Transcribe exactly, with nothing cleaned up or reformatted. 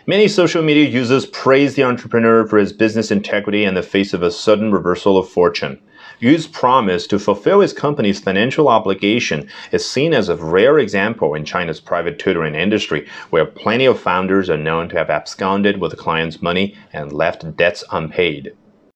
Many social media users praise the entrepreneur for his business integrity in the face of a sudden reversal of fortune. Yu's promise to fulfill his company's financial obligation is seen as a rare example in China's private tutoring industry, where plenty of founders are known to have absconded with the client's money and left debts unpaid.